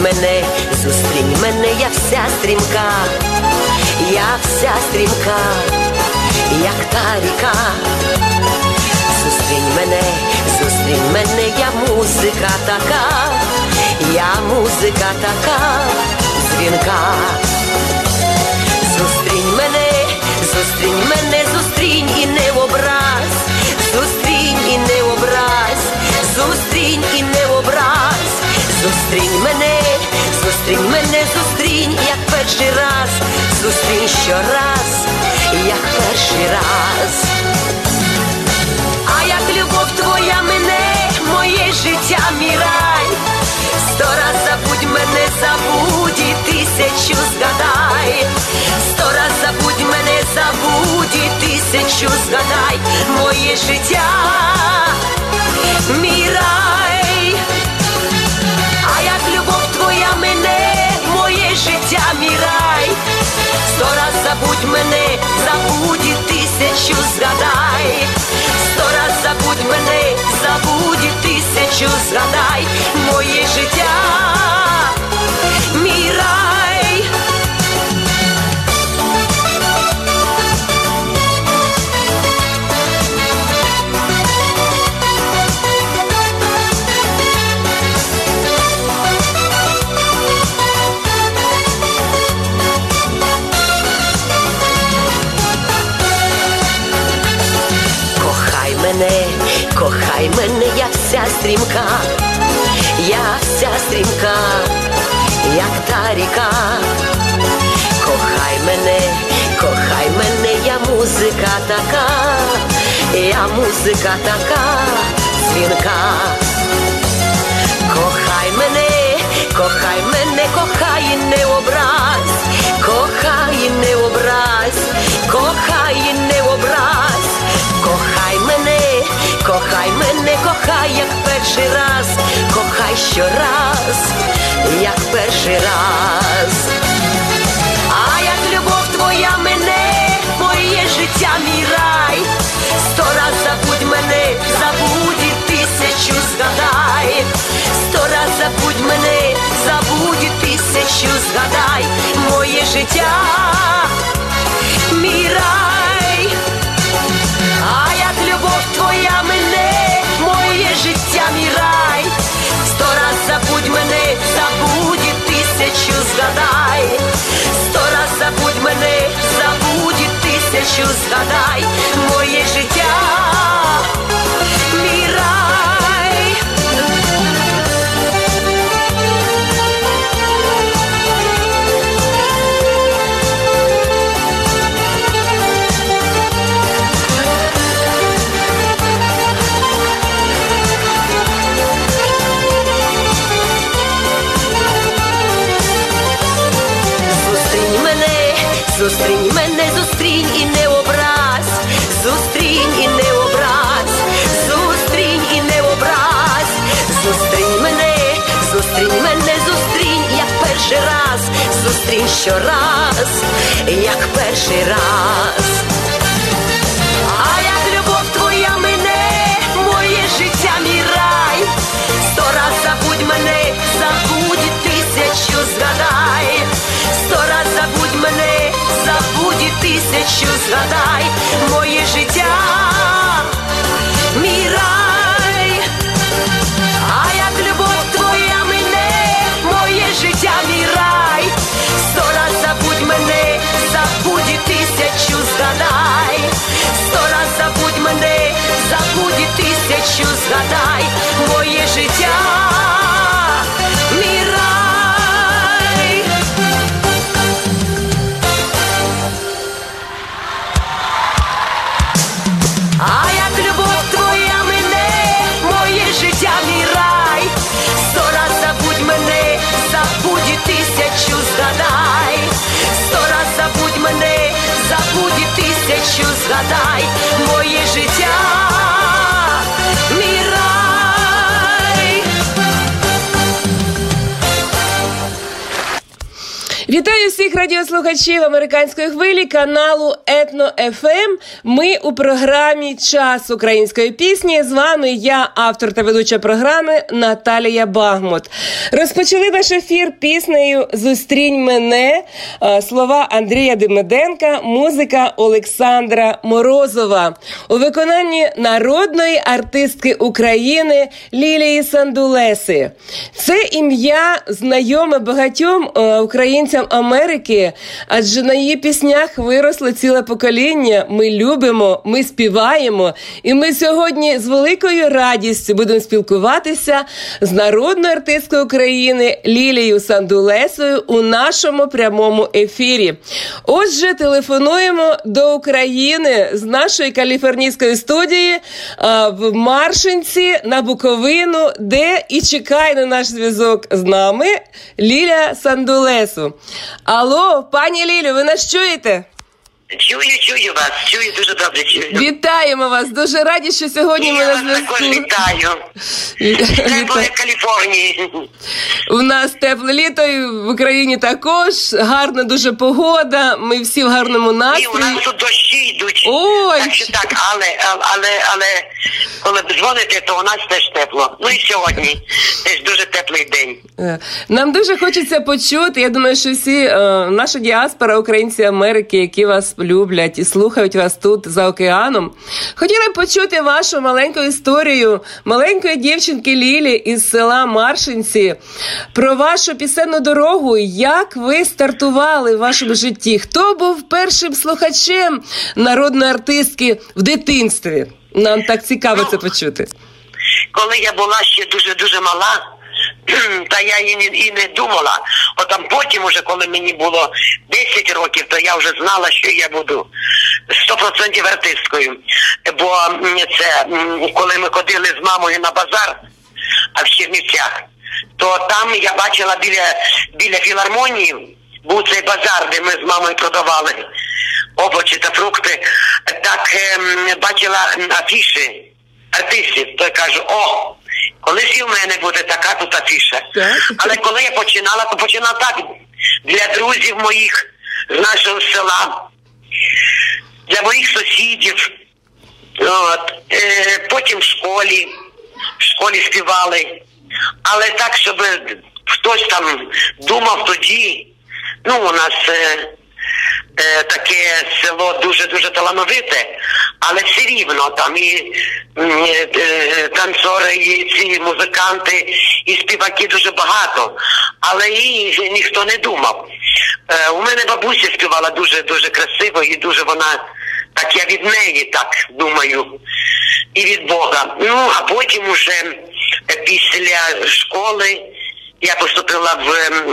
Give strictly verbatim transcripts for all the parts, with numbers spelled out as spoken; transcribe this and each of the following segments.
мене, зустрінь мене, я вся стрімка, я вся стрімка, як та ріка. Зустрінь мене, зустрінь мене, я музика така, я музика така, дзвінка. Зустрінь мене, зустрінь мене, зустрінь і не образ, зустрінь і не образ, зустрінь і не образ. Зустрінь мене, зустрінь мене, зустрінь, як перший раз, зустрінь щораз, як перший раз. А як любов твоя мене, моє життя, мій рай, сто раз забудь мене, забудь і тисячу згадай, сто раз забудь мене, забудь і тисячу згадай, моє життя, мій рай. А як любов твоя мене, моє життя, мій рай, сто раз забудь мене, забудь і тисячу згадай, сто раз забудь мене, забудь і тисячу згадай, моє життя, мій рай. Мене, кохай мене, я вся стрімка, я вся стрімка, як та ріка. Кохай мене, кохай мене, я музика така, я музика така, дзвінка. Кохай мене, кохай мене, кохай і не образ, кохай і не образ, кохай і не образ. Кохай мене, кохай мене, кохай, як перший раз, кохай щораз, як перший раз. А як любов твоя мене, моє життя, мій рай, сто раз забудь мене, забудь і тисячу згадай, сто раз забудь мене, забудь і тисячу згадай, моє життя, мій рай. А як любов твоя мене, моє життя, мій рай, сто раз забудь мене, забудь і тисячу згадай, сто раз забудь мене, забудь і тисячу згадай, моє життя, мій рай. Зустрінь мене, зустрінь і не образ, зустрінь і не образ, зустрінь і не образ. Зустрінь мене, зустрінь мене, зустрінь, як перший раз, зустрінь щораз, як перший раз. А як любов твоя мене, моє життя, мій рай, сто раз забудь мене, забудь і тисячу згадай, сто раз забудь мене, забудь і тисячу згадай, моє життя, мій рай. А як любов твоя мене, моє життя, мій рай, сто раз забудь мене, забудь і тисячу згадай, сто раз забудь мене, забудь і тисячу згадай, моє життя, мій рай. А як любов твоя мене, моє життя, мій рай, сто раз забудь мене, забудь і тисячу згадай, сто раз забудь мене, забудь і тисячу згадай, моє життя, мій рай. Вітаю всіх всіх радіослухачів американської хвилі каналу Етно еф ем. Ми у програмі «Час української пісні». З вами я, автор та ведуча програми Наталія Багмут. Розпочали наш ефір піснею «Зустрінь мене», слова Андрія Демиденка, музика Олександра Морозова. У виконанні народної артистки України Лілії Сандулеси. Це ім'я знайоме багатьом українцям Америки, адже на її піснях виросло ціле покоління. Ми любимо, ми співаємо, і ми сьогодні з великою радістю будемо спілкуватися з народною артисткою України Лілією Сандулесою у нашому прямому ефірі. Отже, телефонуємо до України з нашої каліфорнійської студії в Маршинці на Буковину, де і чекає на наш зв'язок з нами Ліля Сандулесу. Алло, пані Лілю, ви нас чуєте? Чую, чую вас, чую, дуже добре чую. Вітаємо вас, дуже раді, що сьогодні ми на зв'язку. Я вас також вітаю. Теплої Каліфорнії. У нас тепле літо, і в Україні також, гарна дуже погода, ми всі в гарному настрої. І у нас тут дощі йдуть. Ой. Так що так, але, але, але, коли дзвоните, то у нас теж тепло. Ну і сьогодні теж дуже теплий день. Нам дуже хочеться почути, я думаю, що всі, е, наша діаспора, українці Америки, які вас люблять і слухають вас тут за океаном, хотіли почути вашу маленьку історію маленької дівчинки Лілі із села Маршинці, про вашу пісенну дорогу, як ви стартували в вашому житті, хто був першим слухачем народної артистки в дитинстві. Нам так цікаво ну, це почути. Коли я була ще дуже-дуже мала, та я і не, і не думала. От там потім уже, коли мені було десять років, то я вже знала, що я буду сто відсотків артисткою. Бо це, коли ми ходили з мамою на базар, а в Чернівцях, то там я бачила біля, біля філармонії, був цей базар, де ми з мамою продавали овочі та фрукти. Так е, бачила афіші артистів, то я кажу, о, колись і в мене буде така тут афіша. Так. Але коли я починала, то починала так, для друзів моїх з нашого села, для моїх сусідів, от, е, потім в школі, в школі співали. Але так, щоб хтось там думав тоді, ну, у нас е, е, таке село дуже-дуже талановите, але все рівно там і е, е, танцори, і ці музиканти, і співаки дуже багато, але і ніхто не думав. Е, у мене бабуся співала дуже-дуже красиво, і дуже вона, так я від неї так думаю, і від Бога. Ну, а потім уже після школи я поступила в,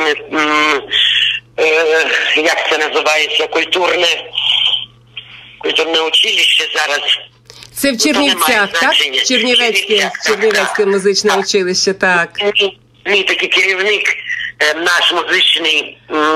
е, як це називається, культурне, культурне училище зараз. Це в Чернівцях, так? Чернівецьке, Чернівецьке музичне так. училище, так. Мій, мій такий керівник, наш музичний,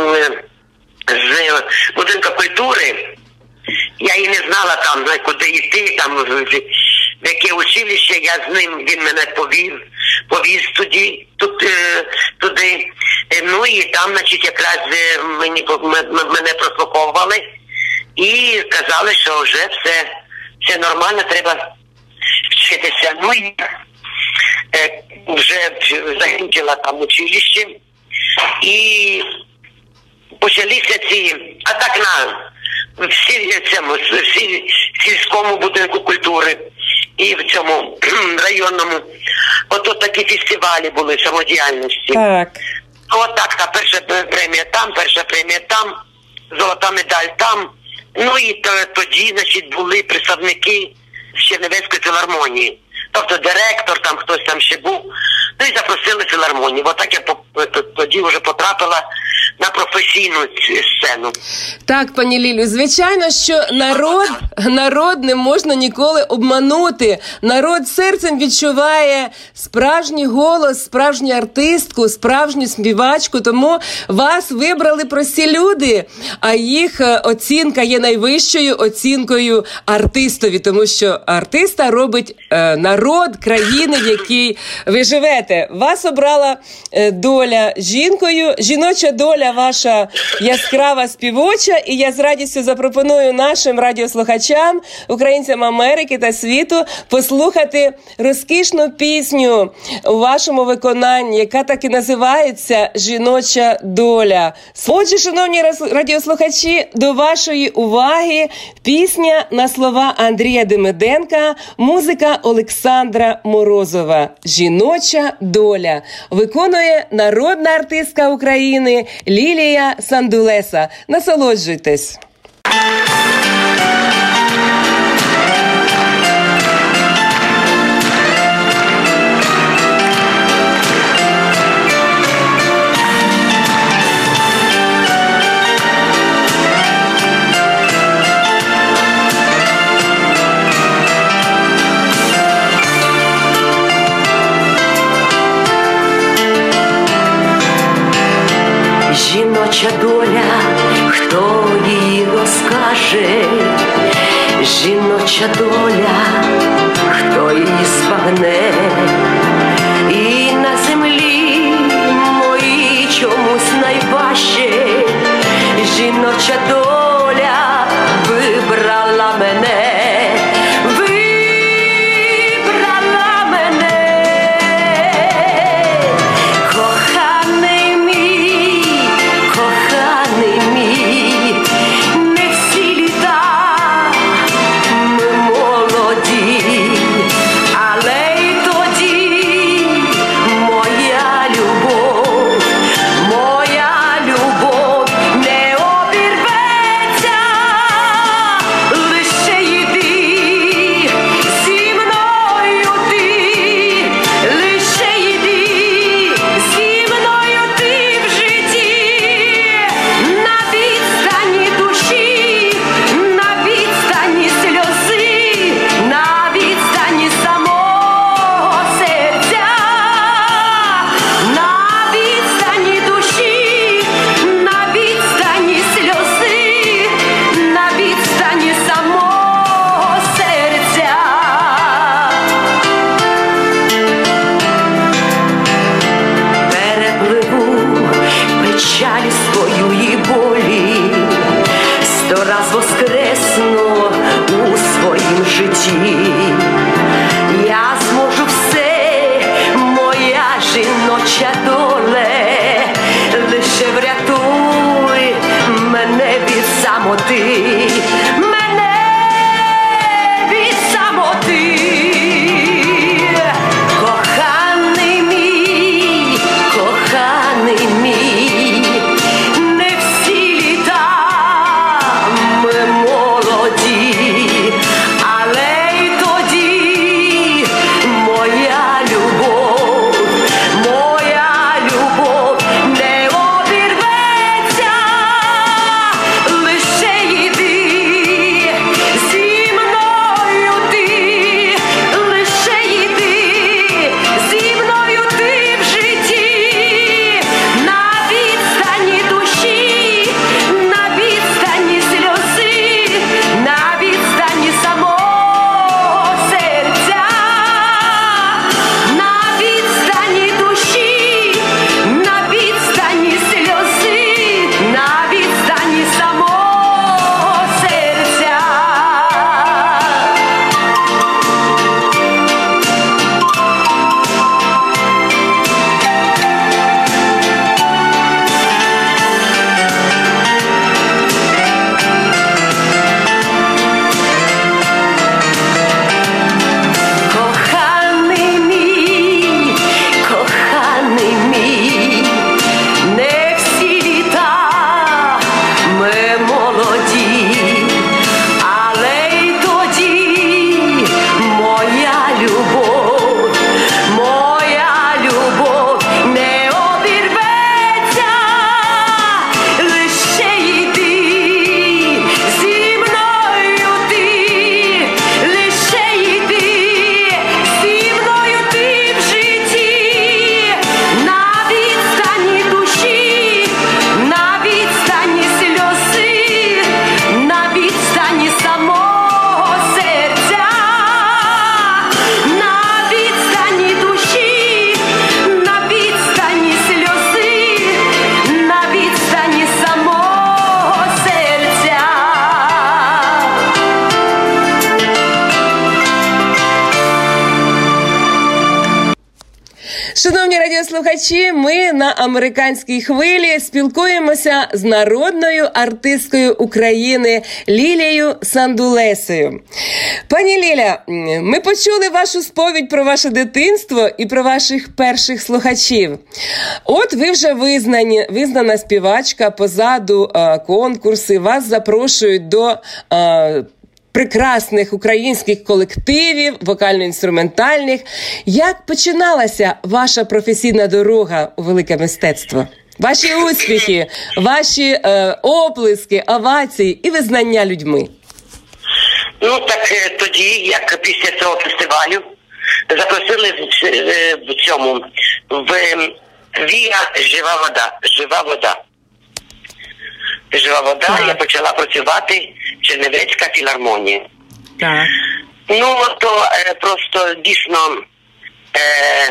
з будинку культури, я і не знала там, куди йти, там, в яке училище, я з ним, він мене повів, повіз туди, туди, туди. Ну і там, значить, якраз мені, мене прослуховували і казали, що вже все, все нормально, треба вчитися. Ну і е, вже закінчила там училище і почалися ці, а так на всі, цьому, всі, сільському будинку культури і в цьому районному. Ото такі фестивалі були самодіяльності. Так. От так, та перша премія там, перша премія там, золота медаль там. Ну і то, тоді, значить, були представники з Чернівецької філармонії. Тобто директор, там хтось там ще був. Ну і запросили філармонію. Отак я тоді вже потрапила на професійну сцену. Так, пані Лілю, звичайно, що народ, народ не можна ніколи обманути. Народ серцем відчуває справжній голос, справжню артистку, справжню співачку, тому вас вибрали прості люди, а їх оцінка є найвищою оцінкою артистові, тому що артиста робить е, народ країни, в якій ви живете. Вас обрала е, доля жінкою, жіноча доля доля ваша яскрава співоча, і я з радістю запропоную нашим радіослухачам, українцям Америки та світу, послухати розкішну пісню у вашому виконанні, яка так і називається «Жіноча доля». Отже, шановні радіослухачі, до вашої уваги пісня на слова Андрія Демиденка, музика Олександра Морозова «Жіноча доля». Виконує народна артистка України Лілія Сандулеса. Насолоджуйтесь. Жіноча доля, хто її розкаже? Жіноча доля, хто її збагне? І на землі моїй чомусь найважче. Жіноча доля вибрала мене. Не всі літа ми молоді. радіослухачі, ми на американській хвилі спілкуємося з народною артисткою України Лілією Сандулесою. Пані Ліля, ми почули вашу сповідь про ваше дитинство і про ваших перших слухачів. От ви вже визнані, визнана співачка, позаду а, конкурси, вас запрошують до а, прекрасних українських колективів, вокально-інструментальних. Як починалася ваша професійна дорога у велике мистецтво? Ваші успіхи, ваші е, оплески, овації і визнання людьми? Ну, так тоді, як після цього фестивалю, запросили в, в цьому, в Віа «Жива вода». Жива вода. Жива вода, так. Я почала працювати Чернівецька філармонія. Так. Ну, то е, просто дійсно е,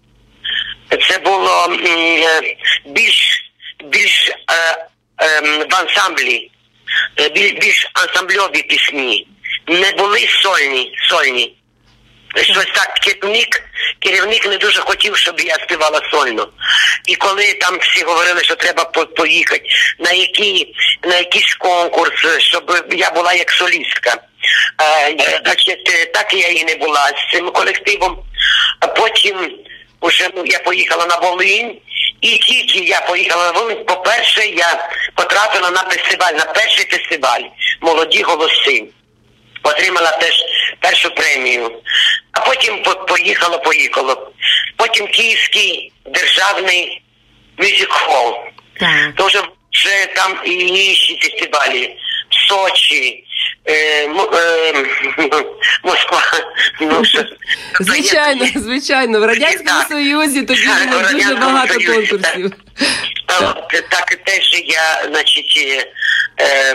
це було е, більш, більш е, е, в ансамблі, е, більш, більш ансамбльові пісні. Не були сольні, сольні. Щось так, керівник, керівник не дуже хотів, щоб я співала сольно. І коли там всі говорили, що треба по- поїхати на, які, на якийсь конкурс, щоб я була як солістка. Е, значить, так я і не була з цим колективом. А потім уже я поїхала на Волинь. І тільки я поїхала на Волинь, по-перше, я потрапила на фестиваль, на перший фестиваль «Молоді голоси». Отримала теж першу премію. А потім поїхало, поїхало. Потім Київський державний мюзик-холл. Тож вже там і інші фестивалі. Сочі, е, е, Москва. Ну, що, звичайно, є, звичайно. В Радянському так, Союзі тоді було дуже багато Союзі, конкурсів. Так, так. так теж я, значить, е,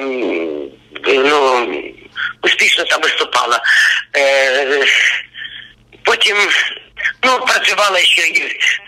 ну, успішно там виступала. Е, потім, ну, працювала ще і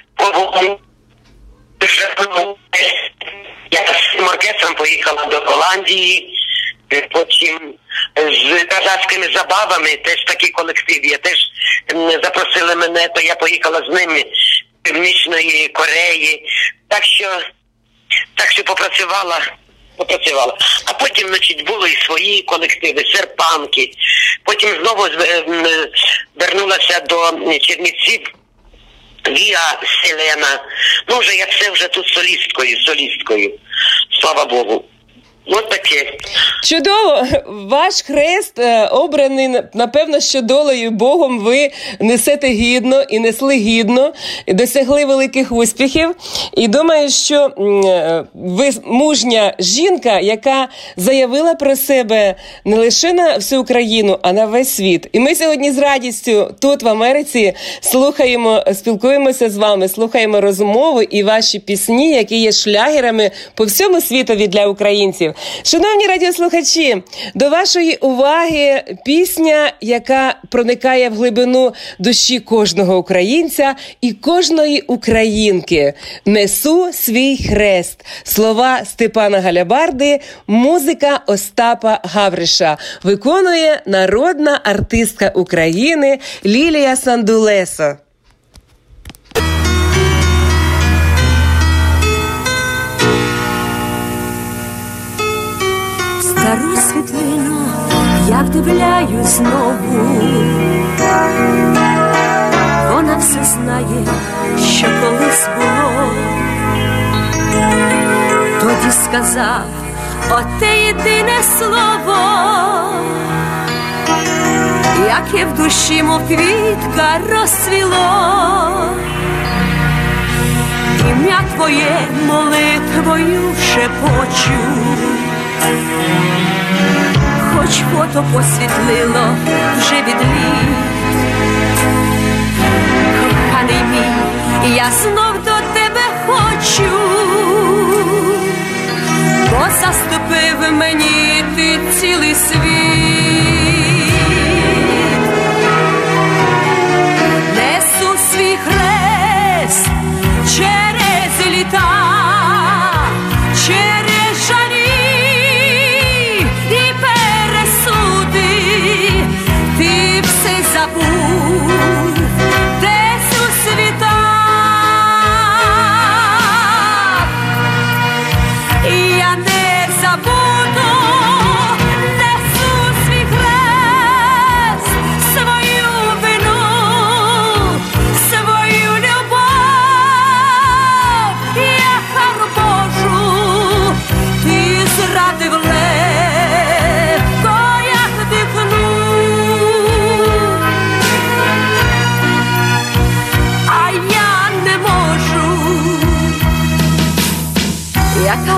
я з цим оркестром поїхала до Голландії, потім з казахськими забавами, теж такий колектив, я теж запросили мене, то я поїхала з ними з Північної Кореї, так що, так що попрацювала. попрацювала. А потім, значить, були і свої колективи, серпанки. Потім знову вернулася до Чернівців, Віа Селена. Ну, вже я все вже тут солісткою, солісткою. Слава Богу. Ось таке. Чудово! Ваш хрест е, обраний, напевно, що долею Богом ви несете гідно і несли гідно, і досягли великих успіхів. І думаю, що е, ви мужня жінка, яка заявила про себе не лише на всю Україну, а на весь світ. І ми сьогодні з радістю тут, в Америці, слухаємо, спілкуємося з вами, слухаємо розмову і ваші пісні, які є шлягерами по всьому світові для українців. Шановні радіослухачі, до вашої уваги пісня, яка проникає в глибину душі кожного українця і кожної українки. «Несу свій хрест». Слова Степана Галябарди, музика Остапа Гавриша. Виконує народна артистка України Лілія Сандулеса. Стару світлину я вдивляю знову. Вона все знає, що колись було. Тоді сказав оте єдине слово, яке в душі, мов квітка, розцвіло. Ім'я твоє молитвою шепочу, хоч фото посвітлило вже від літ. Коханий мій, я знов до тебе хочу, бо заступив мені ти цілий світ. Несу свій хрест через літа, через жалі і пересуди. Ти все забув десь у світах.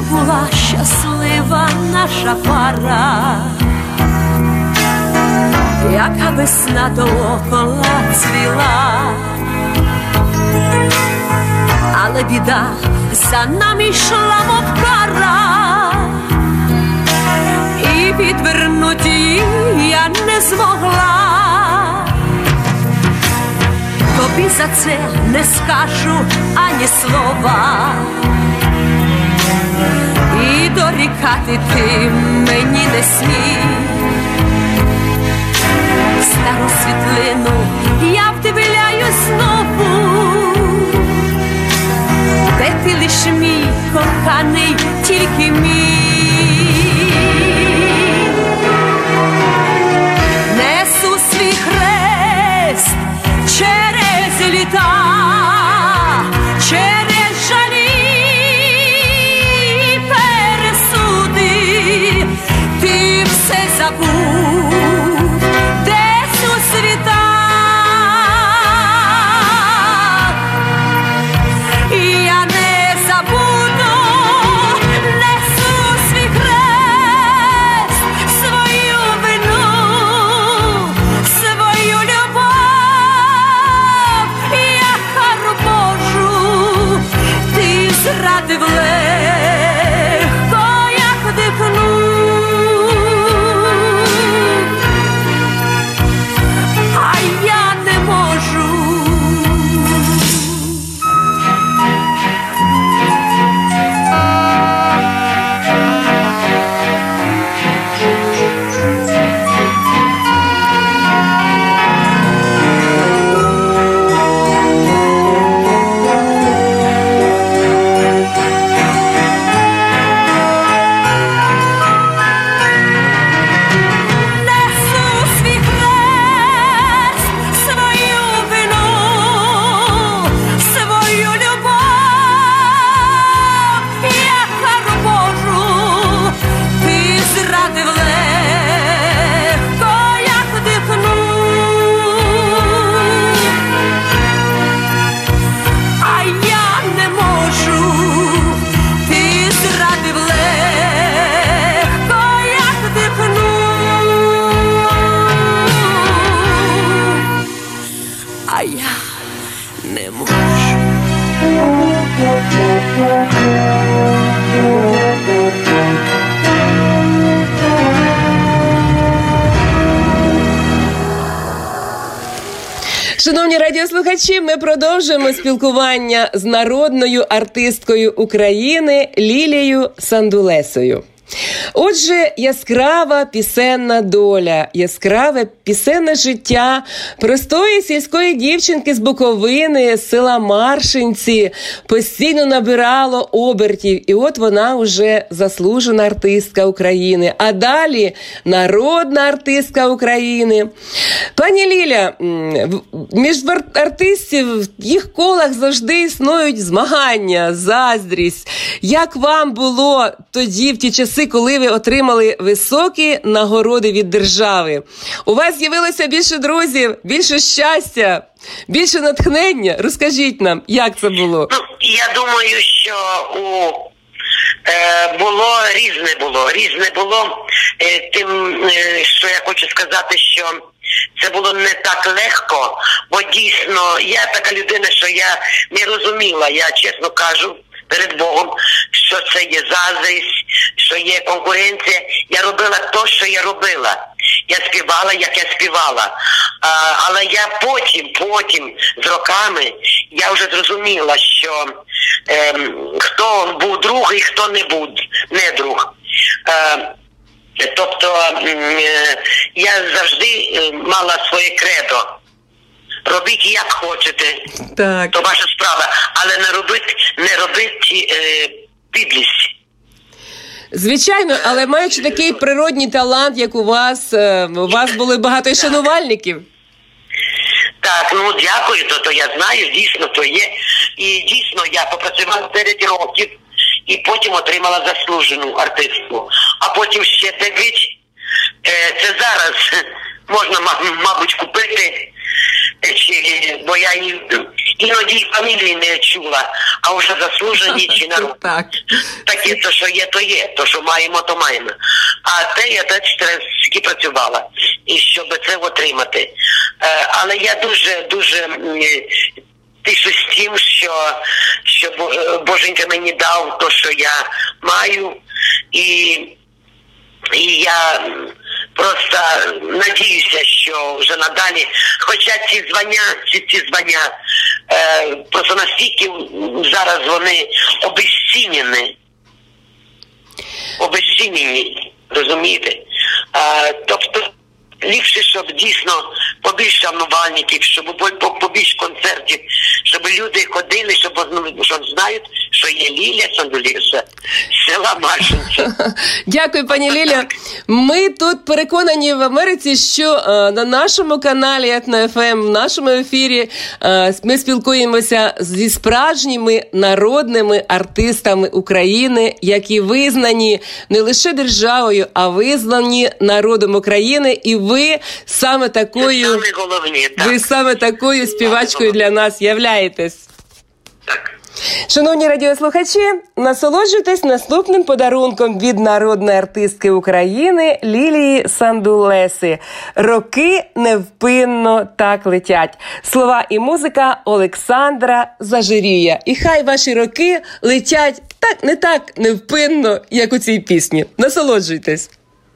була щаслива наша пара, яка весна доокола цвіла, але біда за нами йшла, мов кара, і відвернути її я не змогла. Тобі за це не скажу ані слова, і дорікати ти мені не смій. Стару світлину я вдивляюсь знову, де ти лиш мій коханий, тільки мій. Несу свій хрест через літа, через жалі і пересуди, ти все забудь десь у світах. І я не забуду, несу свій хрест, свою вину, свою любов, я кару Божу, ти зрадив легко, як дихнув, а я не можу. Несу свій хрест, свою вину, свою любов, я кару Божу, ти зрадив легко, як дихнув, а я не можу, ти зрадив легко, як дихнув, а я не можу. Шановні радіослухачі, ми продовжуємо спілкування з народною артисткою України Лілією Сандулесою. Отже, яскрава пісенна доля, яскраве пісенне життя простої сільської дівчинки з Буковини, з села Маршинці, постійно набирало обертів. І от вона вже заслужена артистка України. А далі народна артистка України. Пані Ліля, між артистів в їх колах завжди існують змагання, заздрість. Як вам було тоді, в ті часи, коли ви отримали високі нагороди від держави? У вас з'явилося більше друзів, більше щастя, більше натхнення? Розкажіть нам, як це було? Ну, я думаю, що у е, було різне було. Різне було е, тим, е, що я хочу сказати, що це було не так легко, бо дійсно я така людина, що я не розуміла, я чесно кажу перед Богом, що це є заздрість, що є конкуренція. Я робила те, що я робила. Я співала, як я співала. А, але я потім, потім, з роками, я вже зрозуміла, що ем, хто був друг і хто не був, не друг. Е, тобто е, я завжди мала своє кредо. Робіть як хочете, Так. то ваша справа, але не робіть, не робіть е, підлість. Звичайно, але маючи такий природній талант, як у вас, у вас були багато шанувальників. Так, ну дякую, то, то я знаю, дійсно, то є. І дійсно я попрацювала дев'ять років і потім отримала заслужену артистку. А потім ще дев'ять, е, це зараз можна, мабуть, купити, чи, бо я іноді фамілії не чула, а вже заслужені чи народ. Так. Таке, то, що є, то є, то, що маємо, то маємо. А те я теж стільки працювала, і щоб це отримати. Е, але я дуже, дуже тішусь тим, що, що Боженька мені дав то, що я маю, і, і я просто надіюся, що вже надалі, хоча ці звання, ці, ці звання, е, просто настільки зараз вони обезцінені, обезцінені, розумієте? Е, тобто, ліпше, щоб дійсно побільше шанувальників, щоб побільше концертів, щоб люди ходили, щоб, щоб знають, що є Лілія Сандулєша, села Маршинця. Дякую, пані Ліля. Ми тут переконані в Америці, що е, на нашому каналі Етно еф ем, в нашому ефірі е, ми спілкуємося зі справжніми народними артистами України, які визнані не лише державою, а визнані народом України. І ви саме такою, саме головне, так. ви саме такою співачкою для нас являєтесь. Так. Шановні радіослухачі, насолоджуйтесь наступним подарунком від народної артистки України Лілії Сандулеси. «Роки невпинно так летять». Слова і музика Олександра Зажирія. І хай ваші роки летять так не так невпинно, як у цій пісні. Насолоджуйтесь.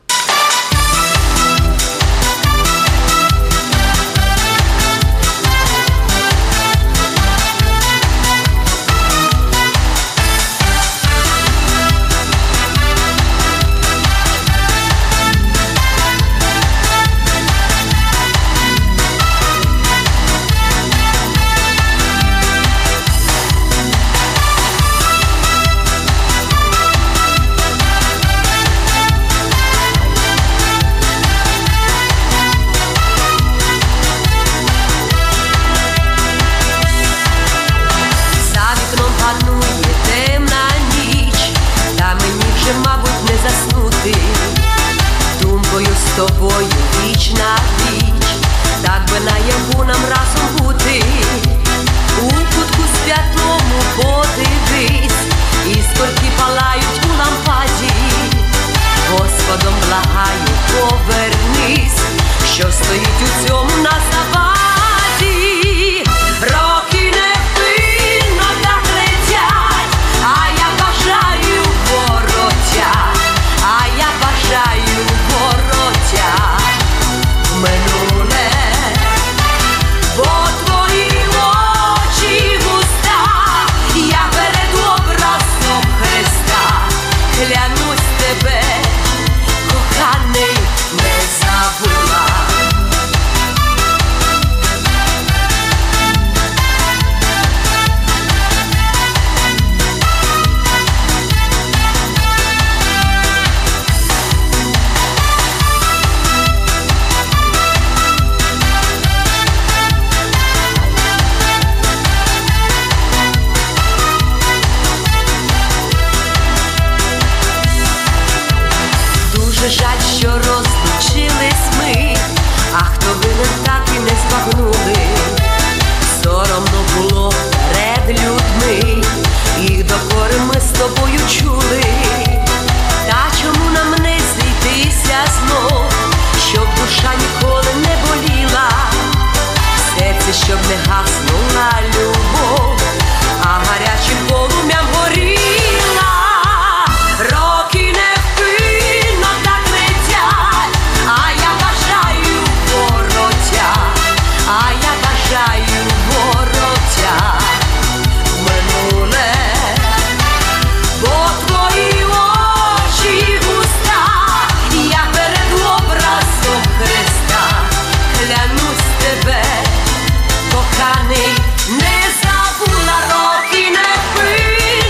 Тобою віч на віч, так би наяву нам разом бути. У кутку святому подивись, іскорки палають у лампаді. Господом благаю, повернись, що стоїть у цьому на заваді. Роки невпинно так летять, а я бажаю вороття, а я бажаю вороття минуле, бо твої очі вуста, я перед образом Христа клянусь тебе, коханий, не забула. Дуже жаль, що розлучились ми, а хто винен, так і не збагнули. Соромно було перед людьми, і докори ми з тобою чули. Та чому нам не зійтися знов, щоб душа ніколи не боліла, в серці, щоб не гаснула любов, а гарячим полум'ям горіла. Роки невпинно так летять, а я бажаю вороття, а я бажаю вороття минуле, бо твої очі вуста, я перед образом Христа клянусь тебе, коханий, не забула. Роки невпинно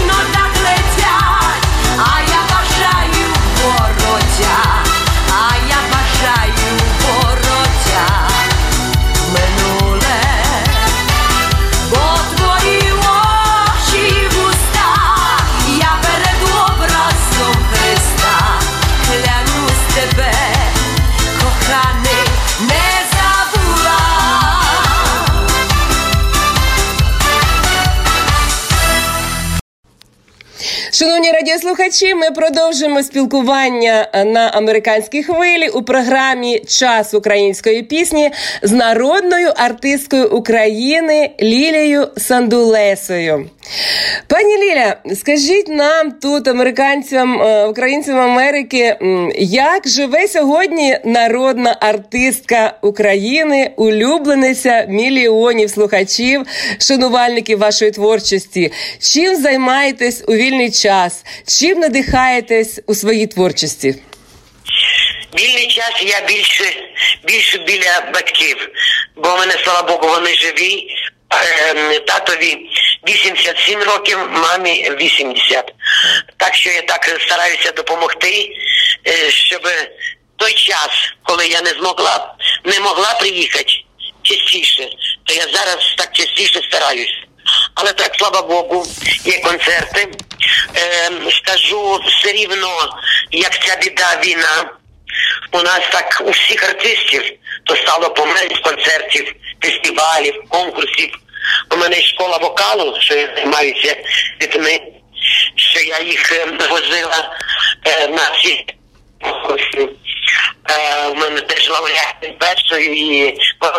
Шановні радіослухачі, ми продовжуємо спілкування на американській хвилі у програмі «Час української пісні» з народною артисткою України Лілією Сандулесою. Пані Ліля, скажіть нам тут, американцям, українцям Америки, як живе сьогодні народна артистка України, улюблениця мільйонів слухачів, шанувальників вашої творчості? Чим займаєтесь у вільний час? Чим надихаєтесь у своїй творчості? Вільний час я більше, більше біля батьків, бо в мене, слава Богу, вони живі. Татові вісімдесят сім років, мамі вісімдесят. Так що я так стараюся допомогти, щоб той час, коли я не змогла, не могла приїхати частіше, то я зараз так частіше стараюсь. Але так, слава Богу, є концерти. Е, скажу все рівно, як ця біда, війна, у нас так, у всіх артистів, то стало поменш концертів, фестивалів, конкурсів. У мене школа вокалу, що я займаюся дітьми, що я їх е, возила е, на всі конкурси. Е, у мене теж лауреат першої і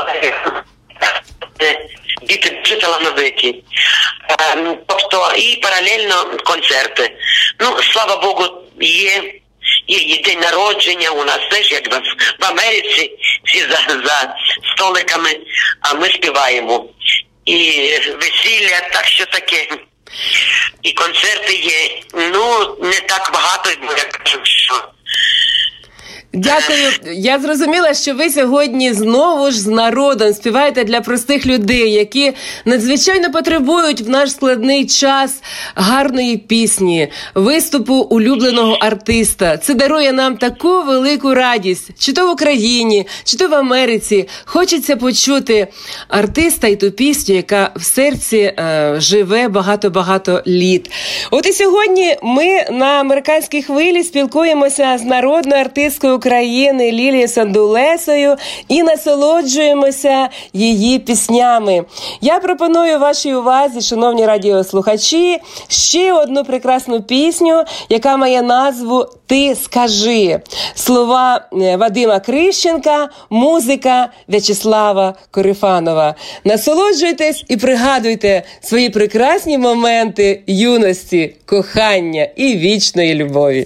діти дуже талановиті. Е, тобто і паралельно концерти. Ну, слава Богу, є. Є, є день народження у нас теж, як в, в Америці, всі за, за столиками, а ми співаємо. І весілля, так що таке. І концерти є. Ну, не так багато, бо я кажу, що... Дякую. Я зрозуміла, що ви сьогодні знову ж з народом співаєте для простих людей, які надзвичайно потребують в наш складний час гарної пісні, виступу улюбленого артиста. Це дарує нам таку велику радість. Чи то в Україні, чи то в Америці. Хочеться почути артиста і ту пісню, яка в серці е, живе багато-багато літ. От і сьогодні ми на американській хвилі спілкуємося з народною артисткою України Лілією Сандулесою і насолоджуємося її піснями. Я пропоную вашій увазі, шановні радіослухачі, ще одну прекрасну пісню, яка має назву «Ти скажи». Слова Вадима Крищенка, музика В'ячеслава Корифанова. Насолоджуйтесь і пригадуйте свої прекрасні моменти юності, кохання і вічної любові.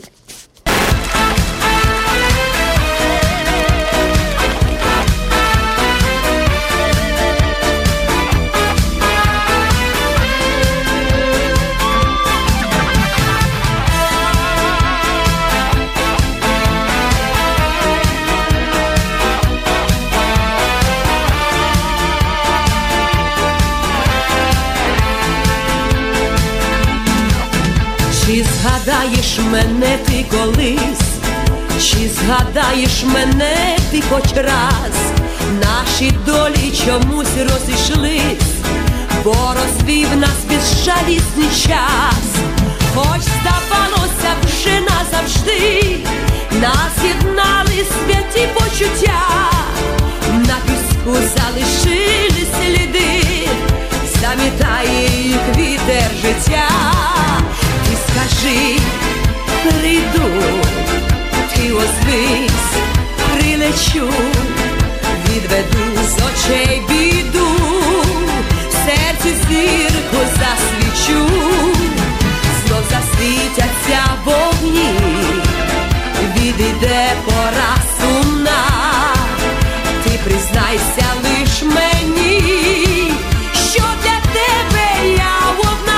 Чи згадаєш мене ти колись, чи згадаєш мене ти хоч раз? Наші долі чомусь розійшлись, бо розвів нас безжалісний час. Хоч здавалося вже назавжди, нас єднали святі почуття, на піску залишились сліди, замітає їх вітер життя. Скажи, прийду, ти озвись, прилечу, відведу з очей біду, в серці зірку засвічу, знов засвітяться вогні, відійде пора сумна, ти признайся лиш мені, що для тебе я одна.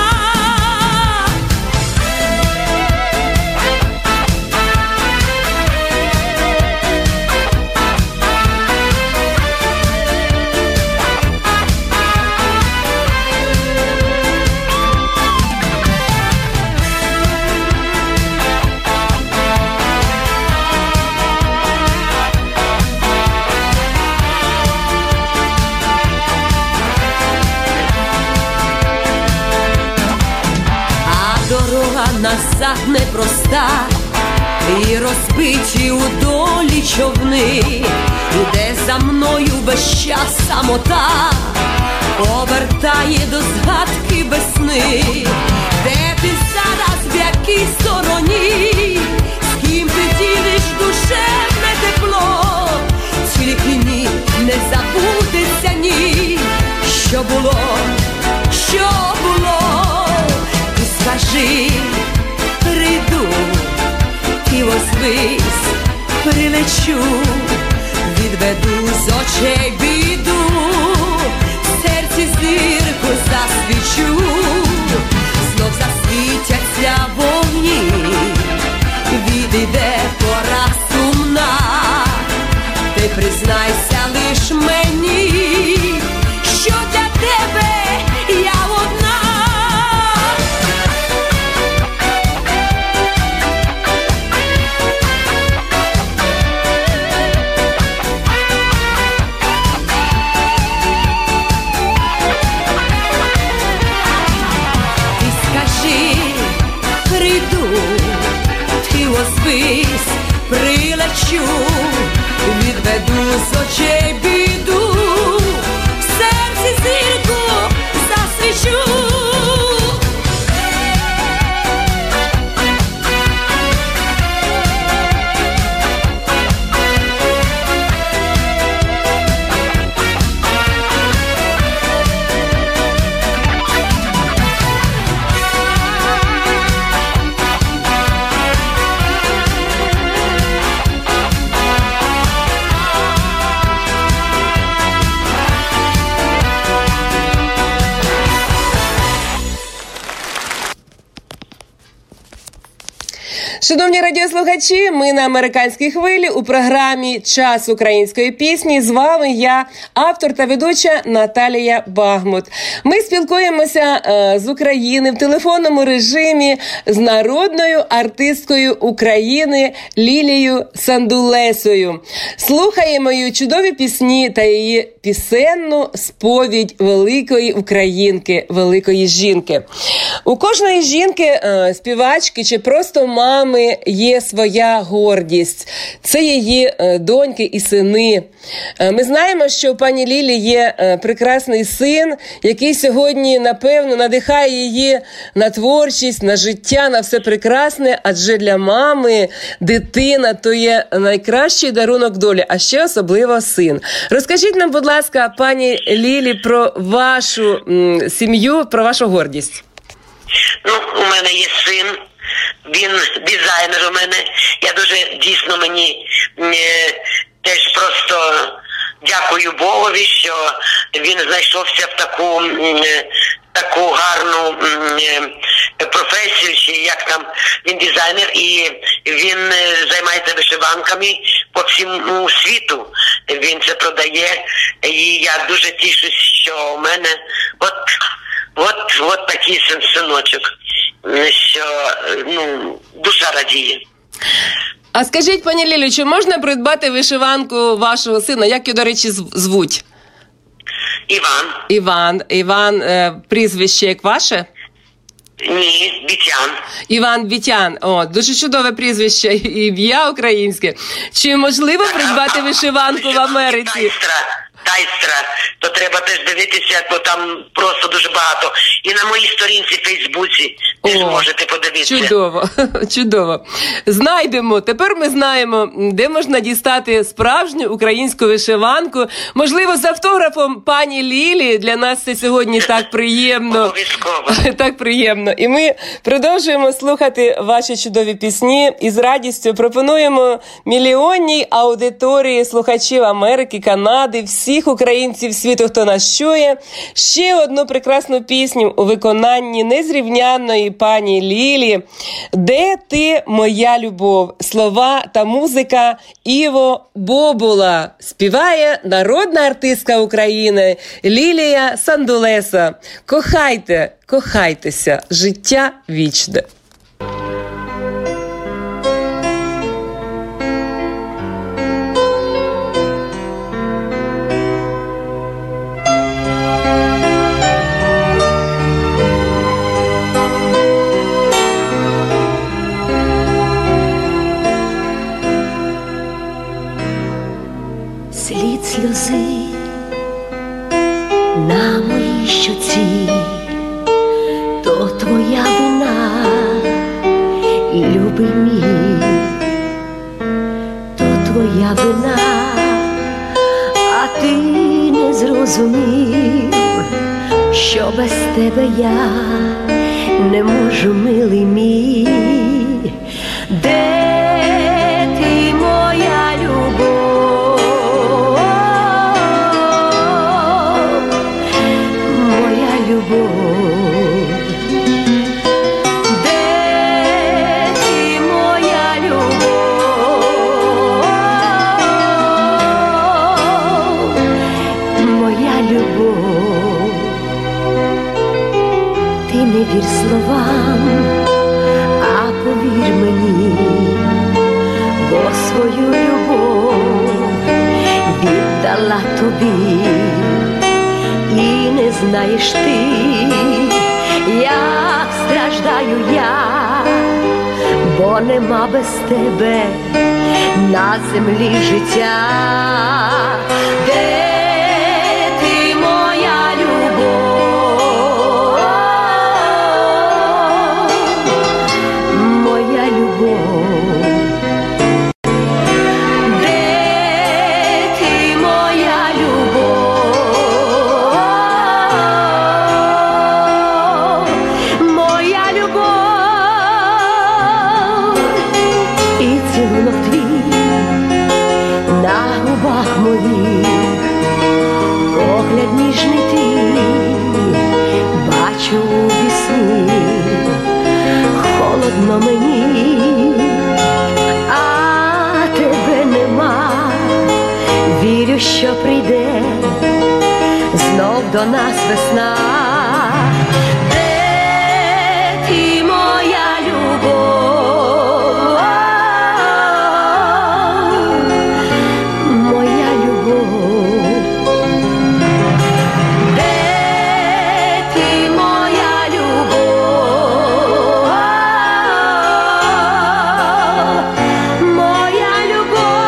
Назад непроста, і розбиті у долі човни, іде за мною весь час самота, повертає до згадки весни. Де ти зараз, в якій тій стороні, з ким ти ділиш душевне тепло, тільки ні, не забудеться ні, що було, що було. Ти скажи, прийду, і озвись, прилечу, відведу з очей біду, в серці зірку засвічу, знов засвітяться вогні, відійде пора сумна, ти признайся лиш мені, що для тебе я одна. Озвись, прилечу, відведу з очей біду, в серці зірку засвічу. Шановні радіослухачі, ми на американській хвилі у програмі «Час української пісні». З вами я, автор та ведуча Наталія Багмут. Ми спілкуємося е, з України в телефонному режимі з народною артисткою України Лілією Сандулесою. Слухаємо її чудові пісні та її пісенну сповідь великої українки, великої жінки. У кожної жінки, е, співачки чи просто мами є своя гордість. Це її е, доньки і сини. Е, ми знаємо, що у пані Лілі є е, прекрасний син, який сьогодні, напевно, надихає її на творчість, на життя, на все прекрасне, адже для мами дитина – то є найкращий дарунок долі, а ще особливо син. Розкажіть нам, будь ласка, пані Лілі, про вашу м, сім'ю, про вашу гордість. Ну, у мене є син, він дизайнер у мене. Я дуже, дійсно, мені е, теж просто дякую Богові, що він знайшовся в таку, е, таку гарну е, професію, чи як там, він дизайнер, і він е, займається вишиванками по всьому світу. Він це продає, і я дуже тішусь, що у мене от От, от такий синочок, що, ну, душа радіє. А скажіть, пані Лілю, чи можна придбати вишиванку вашого сина? Як його, до речі, звуть? Іван. Іван. Іван, е, прізвище як ваше? Ні, Вітян. Іван Вітян. О, дуже чудове прізвище, ім'я українське. Чи можливо придбати вишиванку в Америці? Тайстра. Тайстра, то треба теж дивитися, бо там просто дуже багато. І на моїй сторінці в Фейсбуці теж можете подивитися. Чудово, чудово. Знайдемо. Тепер ми знаємо, де можна дістати справжню українську вишиванку. Можливо, з автографом пані Лілі. Для нас це сьогодні так приємно. Обов'язково. Так приємно. І ми продовжуємо слухати ваші чудові пісні і з радістю пропонуємо мільйонній аудиторії слухачів Америки, Канади, всіх українців світу, хто нас чує, ще одну прекрасну пісню у виконанні незрівнянної пані Лілі «Де ти, моя любов?» Слова та музика Іво Бобула. Співає народна артистка України Лілія Сандулеса. Кохайте, кохайтеся, життя вічне. Слід сльози на моїй щоці, то твоя вина. що без тебе я не можу, милий мій. Де ти, моя любов, моя любов? Де ти, моя любов, моя любов? Ти не вір словам, а повір мені, бо свою любов віддала тобі. І не знаєш ти, як страждаю я, бо нема без тебе на землі життя. Де ти, моя любов, моя любов? Де ти, моя любов, моя любов? І цілунок твій на губах моїх, погляд ніжний твій бачу у вісні. Холодно мені, а тебе нема. Вірю, що прийде знов до нас весна. Де ти, моя любов, моя любов? Де ти, моя любов, моя любов?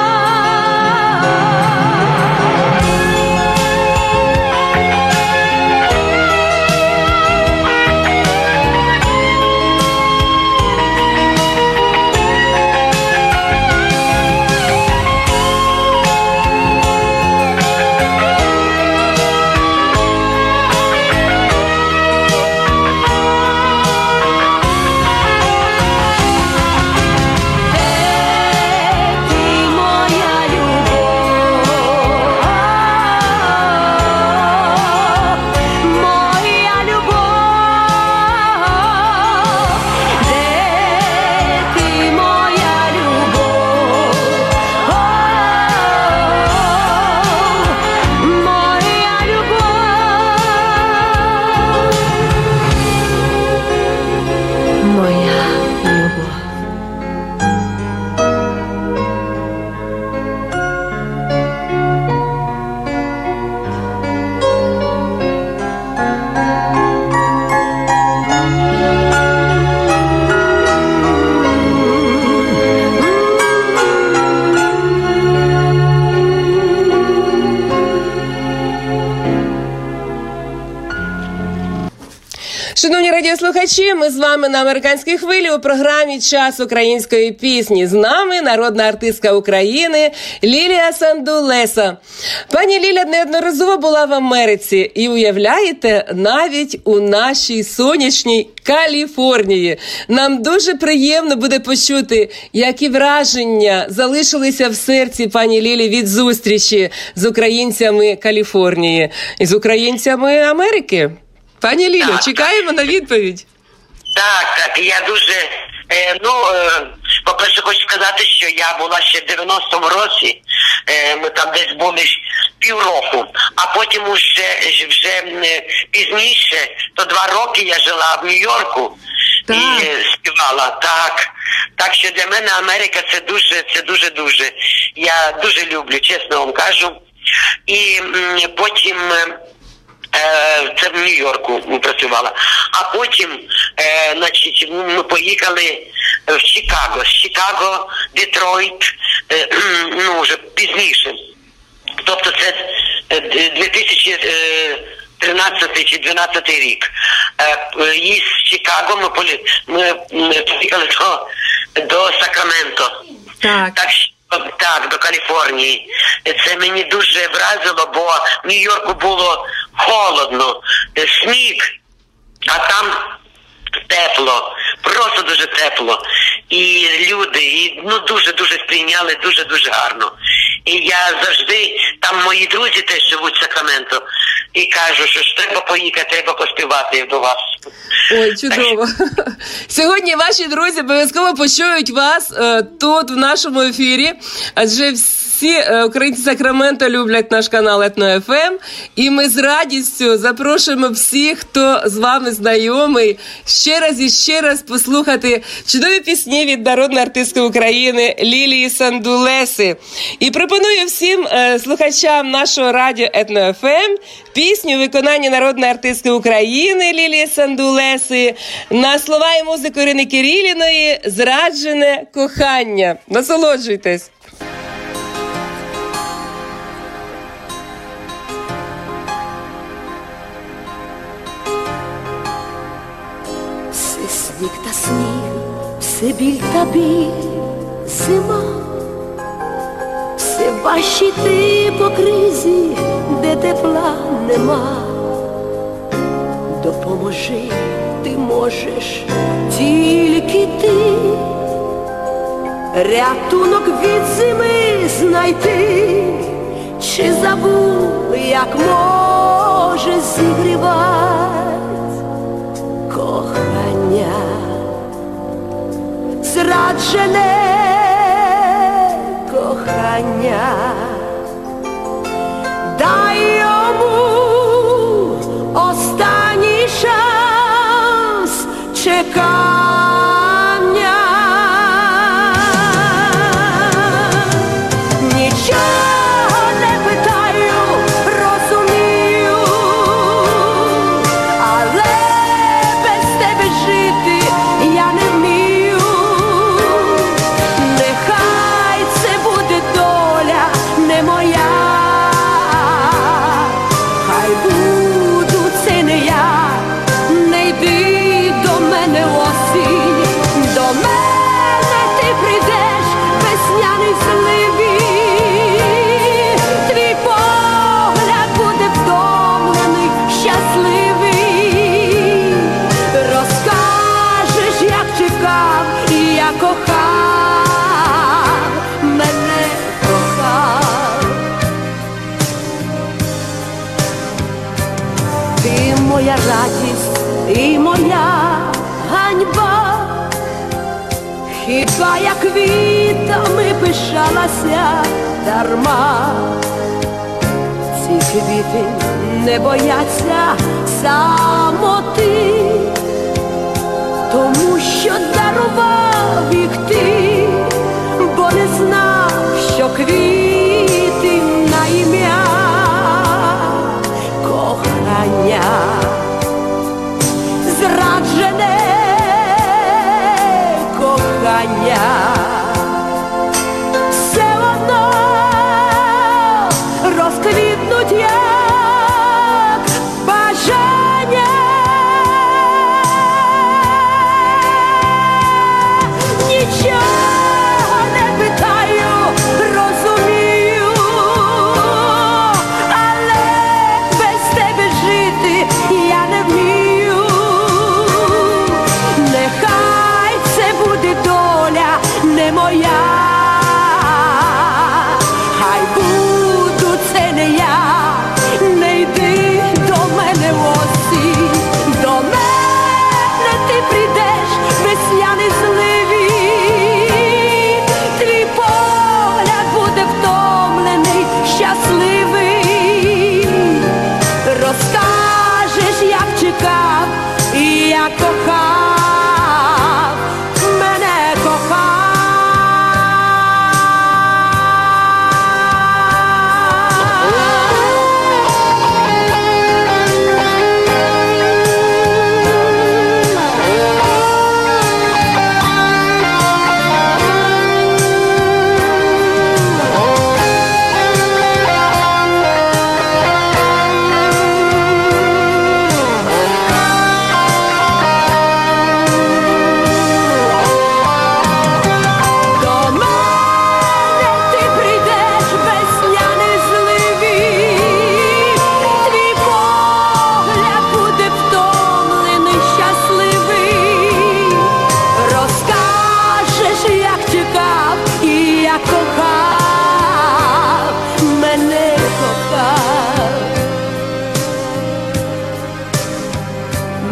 Шановні радіослухачі, ми з вами на американській хвилі у програмі «Час української пісні». З нами народна артистка України Лілія Сандулеса. Пані Ліля неодноразово була в Америці і, уявляєте, навіть у нашій сонячній Каліфорнії. Нам дуже приємно буде почути, які враження залишилися в серці пані Лілі від зустрічі з українцями Каліфорнії і з українцями Америки. Пані Лілю, так, чекаємо на відповідь. Так, так, я дуже, е, ну, е, по-перше, хочу сказати, що я була ще в дев'яностому році, е, ми там десь були півроку, а потім вже, вже е, пізніше, то два роки я жила в Нью-Йорку і е, співала, так. Так що для мене Америка це дуже, це дуже-дуже, я дуже люблю, чесно вам кажу. І м, потім... Це в Нью-Йорку працювала. А потім, е, значить, ми поїхали в Чикаго. З Чикаго, Детройт, е, ну, вже пізніше. Тобто це дві тисячі тринадцятий чи дванадцятий рік. Е, і з Чикаго ми, полі... ми поїхали до, до Сакраменто. Так. Так, Так, до Каліфорнії. Це мені дуже вразило, бо в Нью-Йорку було холодно, сніг, а там тепло, просто дуже тепло. І люди, і, ну, дуже-дуже сприйняли, дуже-дуже гарно. І я завжди, там мої друзі теж живуть в Сакраменто, і кажу, що ж треба поїхати, треба поспівати до вас. Ой, чудово. Сьогодні ваші друзі обов'язково почують вас е, тут, в нашому ефірі, адже всі е, українці Сакраменто люблять наш канал Етно-еф ем, і ми з радістю запрошуємо всіх, хто з вами знайомий, ще раз і ще раз послухати чудові пісні від народної артистки України Лілії Сандулеси. І пропоную всім е, слухачам нашого радіо Етно-еф ем пісню виконання народної артистки України Лілії Сандулеси на слова і музику Ірини Кириліної «Зраджене кохання». Насолоджуйтесь! Все сніг та сніг, все біль та біль, зима. Все важче йти по кризі, де тепла нема. Допоможи, ти можеш тільки ти, рятунок від зими знайти. Чи забув, як може зігрівать кохання зраджене кохання? Дай йому останній шанс чекання. Нічого не питаю, розумію, але без тебе жити я не вмію. Нехай це буде доля не моя, хай буду це не я. Не йди до мене осінь, до мене ти прийдеш весняний зливі. Твій погляд буде втомлений, щасливий. Розкажеш, як чекав і я кохав, мене кохав. Ти моя радість і моя ганьба. Хіба я квітами пишалася дарма? Ці квіти не бояться самоти, тому що дарував їх ти, бо не знав, що квіти на ім'я кохання зраджене кохання. Все одно розквітнуть, як бажання.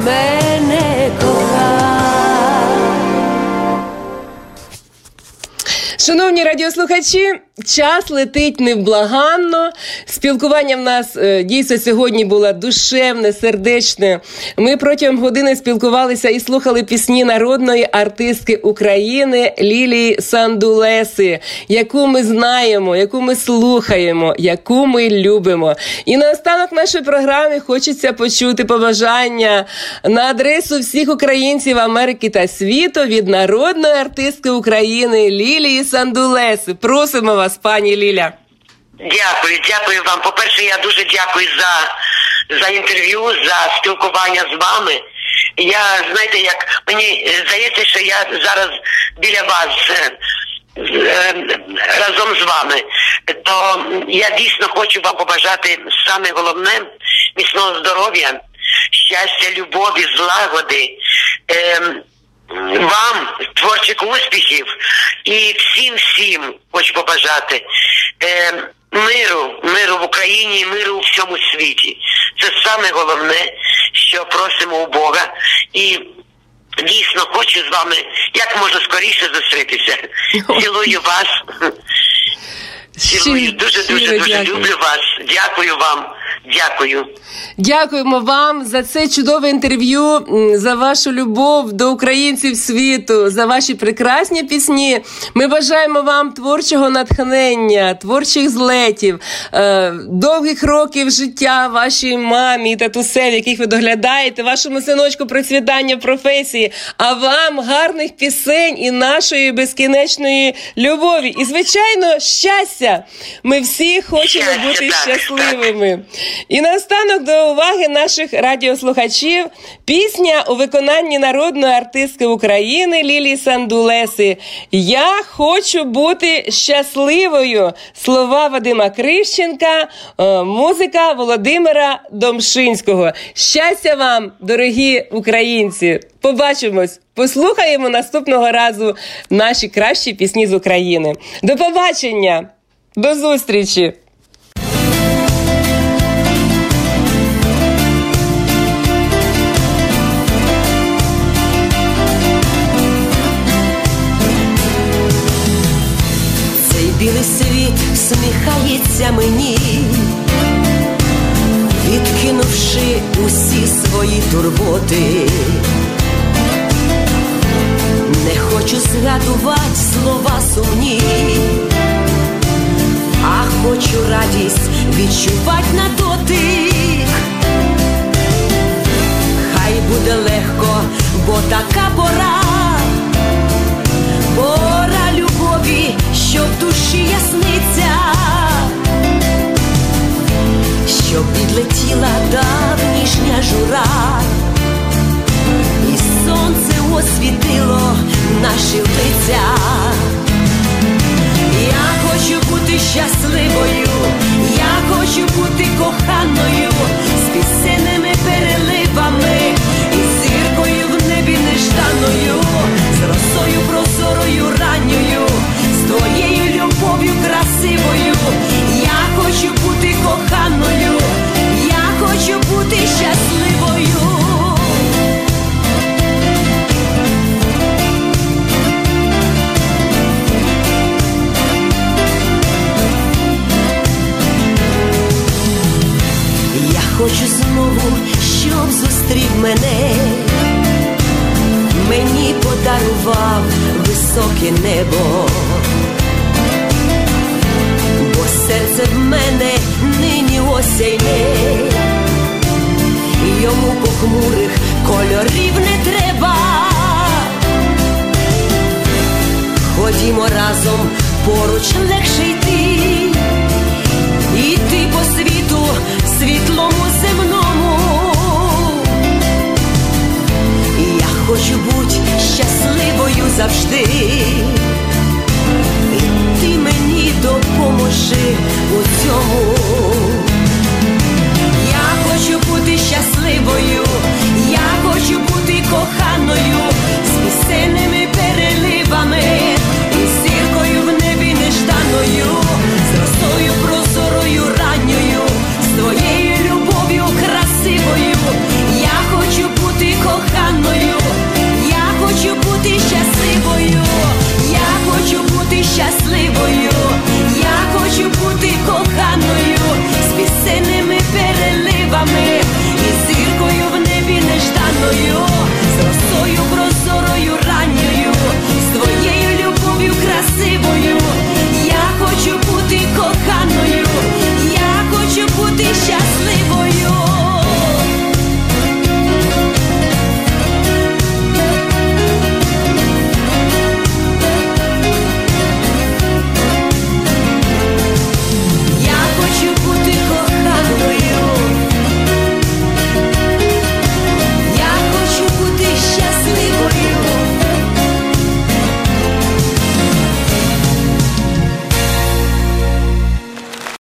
мене кохай. Шановні радіослухачі, час летить невблаганно. Спілкування в нас е, дійсно сьогодні було душевне, сердечне. Ми протягом години спілкувалися і слухали пісні народної артистки України Лілії Сандулеси, яку ми знаємо, яку ми слухаємо, яку ми любимо. І наостанок нашої програми хочеться почути побажання на адресу всіх українців Америки та світу від народної артистки України Лілії Сандулеси. Просимо вас, пані Ліля. Дякую, дякую вам. По-перше, я дуже дякую за, за інтерв'ю, за спілкування з вами. Я, знаєте, як мені здається, що я зараз біля вас разом з вами, то я дійсно хочу вам побажати саме головне – міцного здоров'я, щастя, любові, злагоди, вам творчих успіхів і всім-всім хочу побажати е, миру, миру в Україні і миру у всьому світі. Це саме головне, що просимо у Бога. І дійсно хочу з вами як можна скоріше зустрітися. Цілую вас. Цілую. Дуже-дуже-дуже люблю вас. Дякую вам. Дякую. Дякуємо вам за це чудове інтерв'ю, за вашу любов до українців світу, за ваші прекрасні пісні. Ми бажаємо вам творчого натхнення, творчих злетів, е, довгих років життя вашій мамі і татусеві, яких ви доглядаєте, вашому синочку процвітання професії, а вам гарних пісень і нашої безкінечної любові. І, звичайно, щастя. Ми всі хочемо щастя, бути так, щасливими. Так. І наостанок до уваги наших радіослухачів пісня у виконанні народної артистки України Лілії Сандулеси «Я хочу бути щасливою». Слова Вадима Крищенка, музика Володимира Домшинського. Щастя вам, дорогі українці! Побачимось, послухаємо наступного разу наші кращі пісні з України. До побачення! До зустрічі! Білий світ всміхається мені, відкинувши усі свої турботи. Не хочу згадувати слова сумні, а хочу радість відчувати на дотик. Хай буде легко, бо така пора, пора любові, що в душі ясниться, щоб відлетіла давнішня жура, і сонце освітило наші лиця. Я хочу бути щасливою, я хочу бути коханою, з пісенними переливами і зіркою в небі нежданою, з росою прозорою ранньою, з твоєю любов'ю красивою. Я хочу бути коханою, я хочу бути щасливою. Я хочу знову, щоб зустрів мене, мені подарував високе небо, бо серце в мене нині осяйне, йому похмурих кольорів не треба. Ходімо разом поруч